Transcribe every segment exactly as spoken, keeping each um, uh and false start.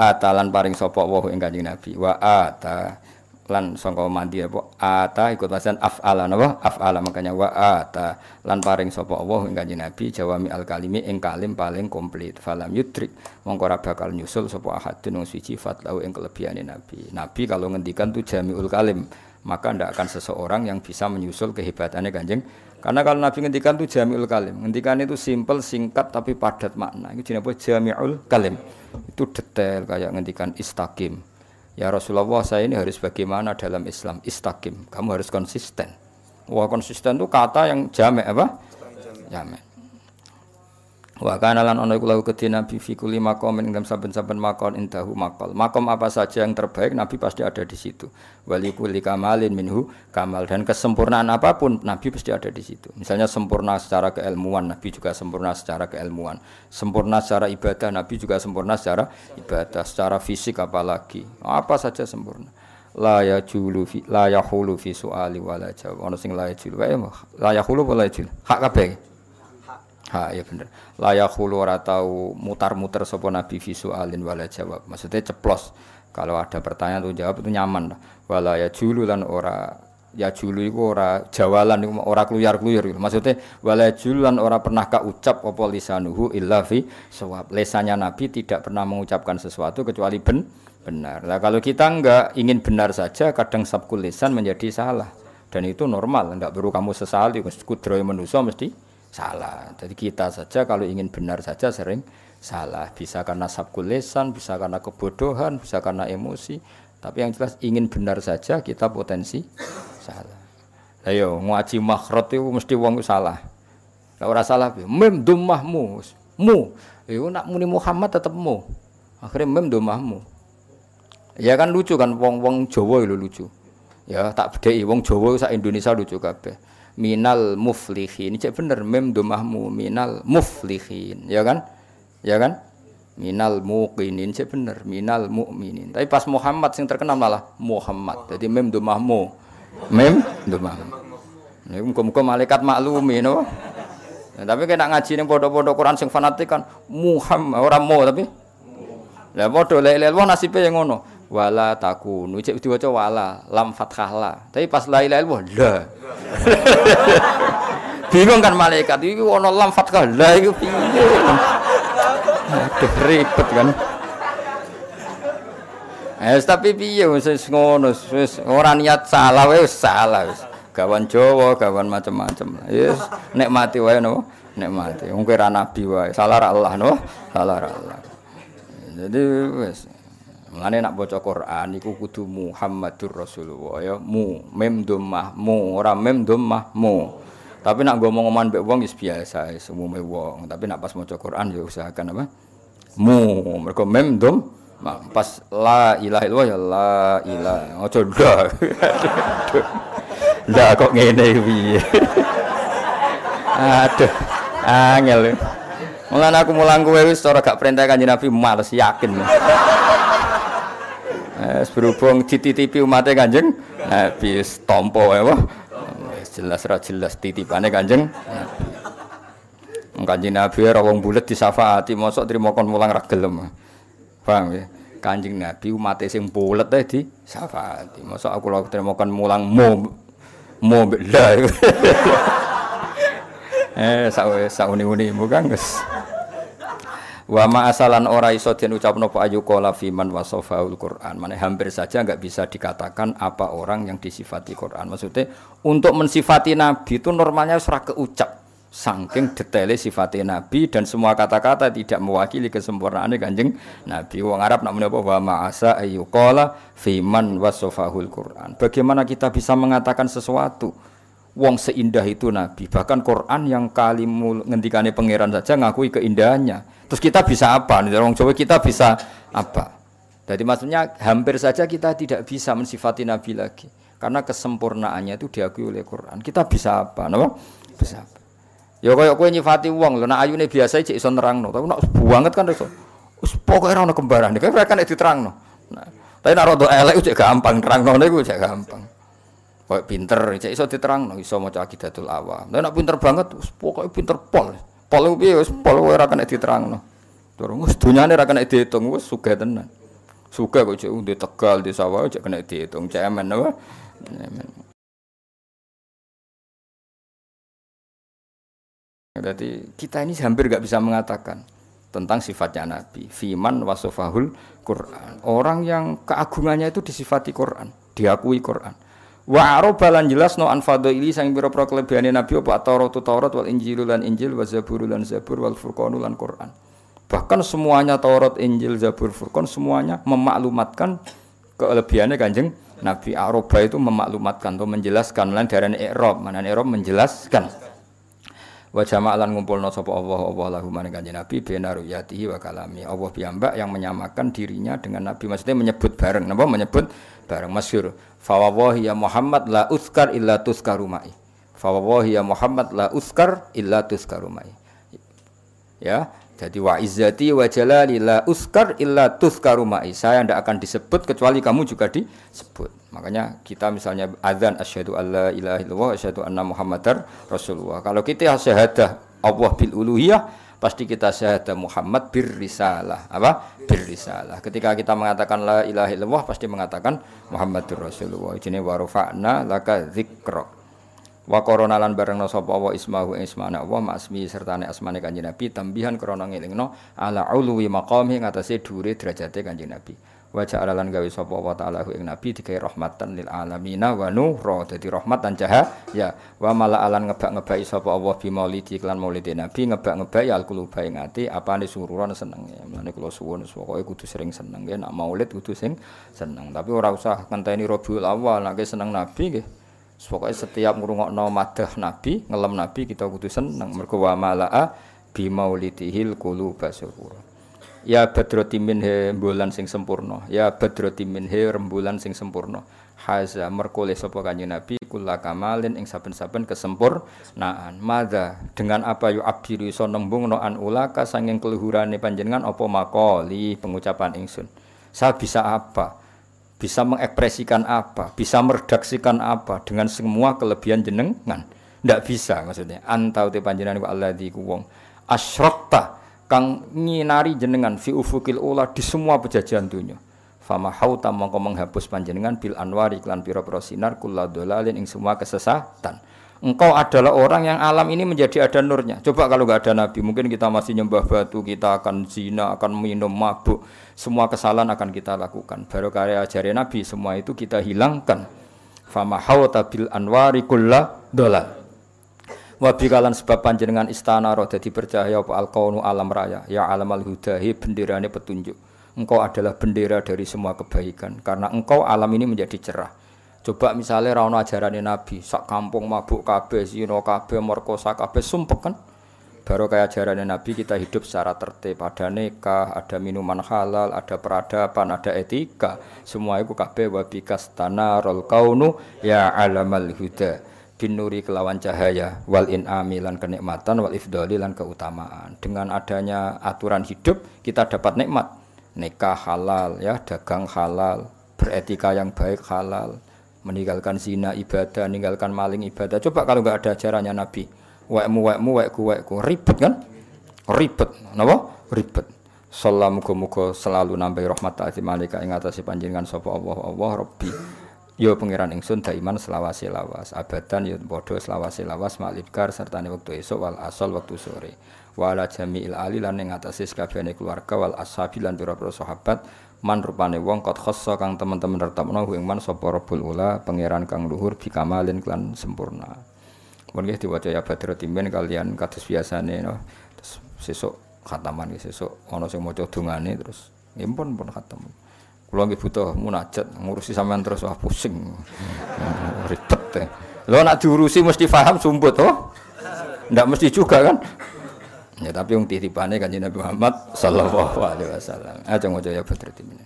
ata lan paring sapa wa ing Kanjeng Nabi wa ata lan sangka mandi apa ata ikut pasan af'ala napa af'ala makanya wa ata lan paring sapa Allah ing Kanjeng Nabi jawami al kalimi ing kalim paling komplit falam yudrik mongko ora bakal nyusul sapa ahadun wong suci fatlau ing kelebihane Nabi. Nabi kalau ngendikan tu jamiul kalim maka ndak akan seseorang yang bisa menyusul kehebatannya Kanjeng. Karena kalau Nabi ngendikan tu jamiul kalim, ngendikan itu simple, singkat tapi padat makna. Itu jenenge jamiul kalim. Itu detail kayak ngendikan istaqim. Ya Rasulullah, saya ini harus bagaimana dalam Islam? Istaqim. Kamu harus konsisten. Wah, konsisten itu kata yang jamek apa? Jamek. Wa kana lan ana iku lahu kedhi Nabi fi kulli maqamin ing saben-saben maqam indahu maqal. Maqam apa saja yang terbaik Nabi pasti ada di situ. Wali kulli kamalin minhu kamal, dan kesempurnaan apapun Nabi pasti ada di situ. Misalnya sempurna secara keilmuan, Nabi juga sempurna secara keilmuan. Sempurna secara ibadah, Nabi juga sempurna secara ibadah, secara fisik apalagi. Apa saja sempurna. La yajulu fi la yahulu fi suali wala jawab. Ono sing la yajulu wae la yahulu wala yajul. Hak kabeh. Ha ya bener. La yakhulu ora tau mutar-muter sapa nabi visualin wala jawab. Maksudnya ceplos. Kalau ada pertanyaan tuh jawab itu nyaman. Wala ya julu lan ora ya julu iku ora jawalan iku ora kluyar-kluyur. Maksudnya wala julu lan ora pernah ka ucap apa lisanuhu illa fi sawab. Lesannya nabi tidak pernah mengucapkan sesuatu kecuali ben benar. Nah, kalau kita enggak ingin benar saja kadang sabkul lisan menjadi salah. Dan itu normal, enggak perlu kamu sesali. Kudrohe manusa mesti salah. Jadi kita saja kalau ingin benar saja sering salah. Bisa karena sabkul lisan, bisa karena kebodohan, bisa karena emosi. Tapi yang jelas ingin benar saja kita potensi salah. Ayo ngaji makhraj itu mesti wong salah. Nek ora salah piye? Mem dhammahmu. Mu. Iku nak muni Muhammad tetep mu. Akhire mem dhammahmu. Ya kan lucu kan wong-wong Jawa lho lucu. Ya tak bedheki wong Jawa sak Indonesia lucu kabeh. Minal muflihin, cek bener mem domahmu minal muflihin, ya kan, ya kan, minal muqinin, cek bener minal mukminin. Tapi pas Muhammad sing terkenal malah Muhammad, jadi mem domahmu, mem domahmu. Ini muka-muka malaikat maklumi, no. Nah, tapi kena ngaji ning pondok-pondok Quran sing fanatik kan Muhammad orang mau tapi, lah podo lele wong nasibe yang ngono. Wala takunu cek diwaca wala lam fathah la tapi pas la ilaha illallah la bingung kan malaikat iki ana lam fathah la iku piye aduh ribet kan eh tapi piye wis ngono wis ora niat salah wis salah wis gawan Jawa gawan macam-macam wis nek mati wae no nek mati wong kira nabi wae salah ra Allah no salah ra Allah jadi wis mulane nak baca Quran iku kudu Muhammadur Rasulullah ya mu mem dhammah mu ora mem dhammah mu. Tapi nak ngomong-ngomongan mbek wong wis biasa wis umume wong, tapi nak pas maca Quran ya usahakan apa mu mergo mem dhammah pas la ilaha illallah ya la ilaha aja ndak. Ndak kok ngene piye. Aduh angel. Mulane aku mulang kowe wis ora gak perintah Kanjeng Nabi males yakin. Eh berhubung dititipi umatnya Kanjeng Nabi tampa wae wah jelas ra jelas titipane Kanjeng Nabi. Kanjeng Nabi ora wong bulet disafaati mosok trimo kon mulang ra gelem. Paham ya? Kanjeng Nabi umate sing bulet ae disafaati. Mosok aku lho trimo kon mulang mo mo la. Eh sak sak-uni-uni bukan Gus. Wa ma asalan ora iso den ucapno apa ayu qala fi man wasafaul Quran. Mane hampir saja enggak bisa dikatakan apa orang yang disifati Quran. Maksudnya untuk mensifati nabi itu normalnya ora keucap. Saking detaile sifate nabi dan semua kata-kata tidak mewakili kesempurnaan Kanjeng Nabi. Wong Arab nak muni apa wa ma asa ayu qala fi man wasafahul Quran. Bagaimana kita bisa mengatakan sesuatu wong seindah itu nabi. Bahkan Quran yang kalimul ngendikane pangeran saja ngakui keindahannya. Terus kita bisa apa? Nih orang Jawa kita bisa apa? Jadi maksudnya hampir saja kita tidak bisa mensifati Nabi lagi. Karena kesempurnaannya itu diakui oleh Quran. Kita bisa apa? Napa? Bisa apa? Ya kaya kowe nyifati wong lho, nek ayune biasa cek iso nerangno. Tapi nek banget kan iso. Wis pokoke ora ono kembarane. Kae kan nek diterangno. Nah, tapi nek rada elek cek gampang nerangno niku cek gampang. Kowe pinter cek iso diterangno, iso maca Aqidatul Awam. Nek pinter banget wis pokoke pinter pol. Pol piye wis pol ora kena diterangno. Durung wis dunyane ora kena diitung wis sugih tenan. Suka kok cek udah Tegal di sawah cek kena dihitung cemen apa? Jadi kita ini hampir nggak bisa mengatakan tentang sifatnya Nabi. Fiman wasofahul Quran. Orang yang keagungannya itu disifati Quran, diakui Quran. Wa arobalan jelas no anfado ili sang biro pro kelebihane Nabi apa Taurat Taurat wal Injil lan Injil wa Zabur lan Zabur wal Furqan lan Quran. Bahkan semuanya Taurat, Injil, Zabur, Furqan semuanya memaklumatkan kelebihannya Kanjeng Nabi. Aroba itu memaklumatkan atau menjelaskan lan darane i'rab, mana i'rab menjelaskan. Wa jama'alan ngumpulna sapa Allah Allah lahu maring Kanjeng Nabi bena ruyatihi wa kalami. Allah piyambak yang menyamakan dirinya dengan Nabi, maksudnya menyebut bareng, napa menyebut bareng masyhur. Fa wallahi ya Muhammad la uskar illa tuskaru ma'i. Fa wallahi ya Muhammad la uskar illa tuskaru ma'i. Ya, jadi wa izzati wa jalali la uskar illa tuskaru ma'i. Saya tidak akan disebut kecuali kamu juga disebut. Makanya kita misalnya azan asyhadu alla ilaha illallah asyhadu anna muhammadar rasulullah. Kalau kita syahadah Allah bil uluhiyah, pasti kita syahadah Muhammad bir risalah. Apa? Bir risalah. Ketika kita mengatakan la ilaha illallah pasti mengatakan Muhammadur Rasulullah. Jenenge wa rafa'na laka dzikra. Wa korona lan bareng sapa wa ismahu ismana Allah masmi sertane asmane Kanjeng Nabi tambihan krana ngelingno ala ulwi maqami ngatasé dhuwure derajate Kanjeng Nabi. Wa ja'ala lan gawe sapa wa ta'ala ing Nabi digawe rahmatan lil alamina wa nura, dadi rahmat lan cahaya. Wa mala alan ngebak-ngebaki sapa Allah bi maulidi lan maulide Nabi ngebak-ngebaki al quluba ing ati apane sururan seneng. Mulane kula suwun pokoke kudu sering seneng nggih, nek maulid kudu sing seneng. Tapi ora usah ngenteni Rabiul Awal nek seneng Nabi nggih. Pokoknya setiap ngrungokno madah Nabi, ngelem Nabi kita kudu seneng mergo wa malaa bi maulidihil quluba surura. Ya badroti minhe rembulan sing sempurna, ya badroti minhe rembulan sing sempurna. Haza merkole sapa Kanjeng Nabi kula kamalin ing saben-saben kesempurnaan. Madza dengan apa yu abiru iso nembungno an ulaka sanging keluhurane panjenengan apa makoli pengucapan ingsun. Saya bisa apa? Bisa mengekspresikan apa, bisa meredaksikan apa dengan semua kelebihan jenengan. Ndak bisa maksudnya. Antau te panjenengan wa alladzi ku wong asyrakta kang nyinari jenengan fi ufukil ula di semua pejajahan dunya. Fama hauta mongko menghapus panjenengan bil anwari iklan pira-pira sinar kulladzalalin ing semua kesesatan. Engkau adalah orang yang alam ini menjadi ada nurnya. Coba kalau enggak ada Nabi, mungkin kita masih nyembah batu, kita akan zina, akan minum mabuk. Semua kesalahan akan kita lakukan. Baru karya ajaran Nabi, semua itu kita hilangkan. Fama hauta bil anwari kulladhalal. Wa bikalan sebab panjenengan istana roh dadi bercahaya apa al-qaunu alam raya. Ya alamal hudahi benderane petunjuk. Engkau adalah bendera dari semua kebaikan. Karena engkau alam ini menjadi cerah. Coba misalnya ra ono ajarane Nabi, sak kampung mabuk kabeh, zina kabeh, merkosa kabeh, sumpek kan. Baru kayak ajarane Nabi kita hidup secara tertib, ada nikah, ada minuman halal, ada peradaban, ada etika. Semua itu kabeh wa bikastana rol kaunu ya alamal huda. Binuri kelawan cahaya wal in'ami lan kenikmatan wal ifdali lan keutamaan. Dengan adanya aturan hidup kita dapat nikmat. Nikah halal ya, dagang halal, beretika yang baik halal. Meninggalkan zina ibadah, meninggalkan maling ibadah. Coba kalau enggak ada ajarannya Nabi, wekmu wekmu wekku wekku ribet kan? Ribet, napa? Ribet. Sallallahu muga-muga selalu nambahi rahmat ta'ati malika ing atase panjenengan sapa Allah Allah Rabbi. Ya pangeran ingsun daiman selawase lawas, abadan ya padha selawase lawas malibkar sertane wektu esuk wal asal wektu sore. Wa ala jami'il ali lan ing atase sakabehane keluarga wal ashabi lan pira-pira sahabat. Man rupane wong kot khosso kang teman-teman retepno ing man sapa Rabbul Ula pangeran kang luhur bikamalin kelan sempurna. Mun nggih diwaca ya Badrul Timin kalian kados biasane no. Terus sesuk khataman nggih sesuk ana sing maca dongane terus nggih pun pun khatam. Kula nggih butuh munajat ngurusi sampean terus wah pusing. Ribet. Lho nek diurusi mesti paham sumput to. Ndak mesti juga kan? Ya tapi wong titipane Kanjeng Nabi Muhammad sallallahu alaihi wasallam. Aja ngojo ya Badrul Timin.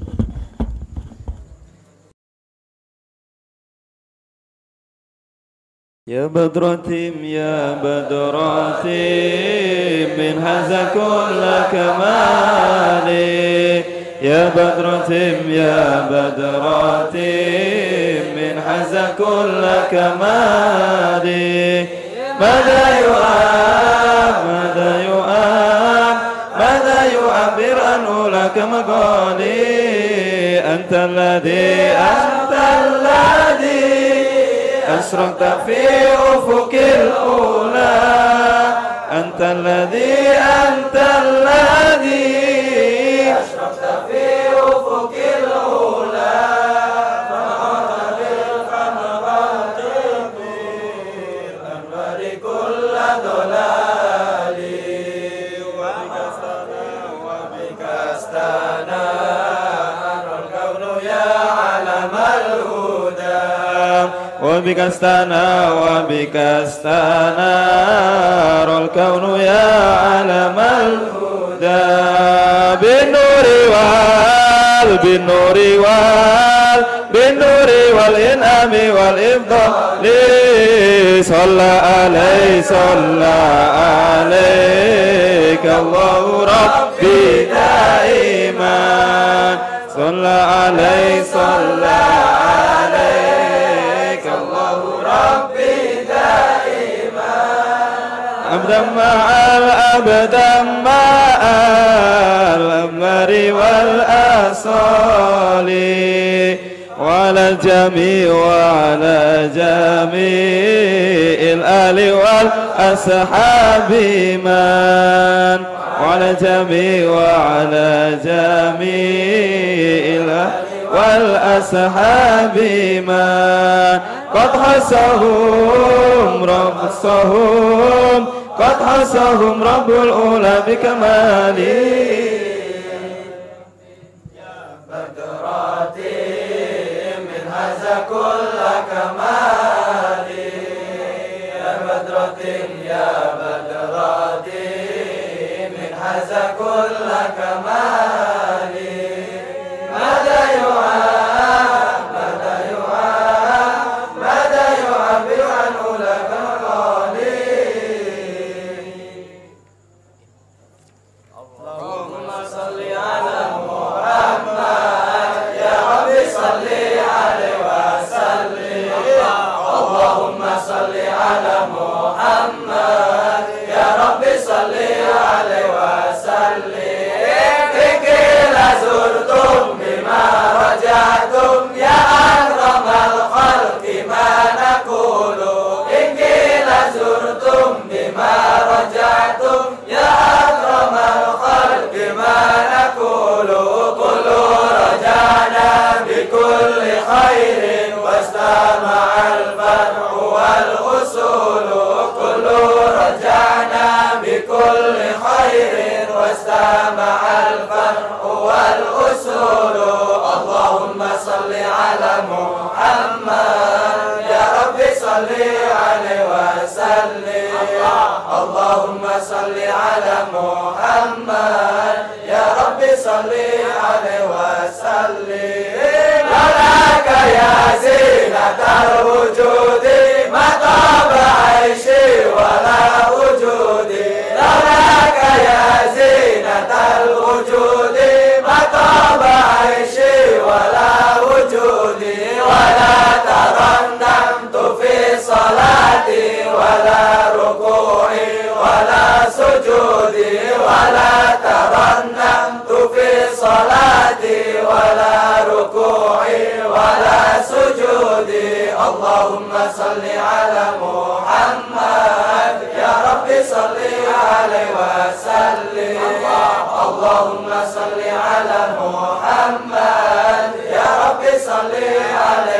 Ya Badrutim ya Badrutim min haza kulla kamali. Ya Badrutim ya Badrutim min haza kulla kamali. Mada yu'ab ماذا يعبر عنه لك مقالي أنت الذي أنت الذي أشرقت في أفق الأولى أنت الذي أنت الذي أشرقت في أفق الأولى فنورت بالقمرات بالأنوار كل ضلال وبك استنار وبك استنار الكون يا علم الهدى وبك استنار وبك استنار الكون يا علم الهدى بالنور وال بالنور وال بالنور والإنعام والإفضال صلى عليه صلى عليك الله ربي دائما صلى عليه صلى عليك الله ربي دائما أبدا مع الأبدا مع الأمر والأصال وعلى الجميع وعلى جميع الآل والأصحاب من وعلى الجميع وعلى جميع الآل والأصحاب من قد حصهم رب حصهم قد حصهم رب الأولى بكماله كل كمالي يا بدرة يا بدرة من هذا كل كمالي ماذا يعاب ماذا يعاب ماذا يعبر عن أولى كمالي اللهم صل على محمد يا رب صل عليه اللهم صل على محمد يا رب صل عليه وسلم إن قيل زرتم بما رجعتم يا أكرم الخلق ما نقول إن قيل زرتم بما رجعتم يا أكرم الخلق ما نقول قولوا رجعنا بكل خير واستمع الفرع والأصول كل رجعنا بكل خير واستمع الفرع والأصول اللهم صل على محمد يا رب صل عليه وسلم اللهم صل على محمد يا رب صل عليه وسلم لك يا زينة الوجود ما طاب عيشي ولا وجودي لك يا زينة الوجود ما طاب عيشي ولا وجودي ولا ترنمت في صلاتي ولا ركوعي ولا سجودي ولا ترنمت في صلاتي ولا ركوعي ولا سجودي اللهم صل على محمد يا رب صل عليه وسلم اللهم صل على محمد يا رب صل عليه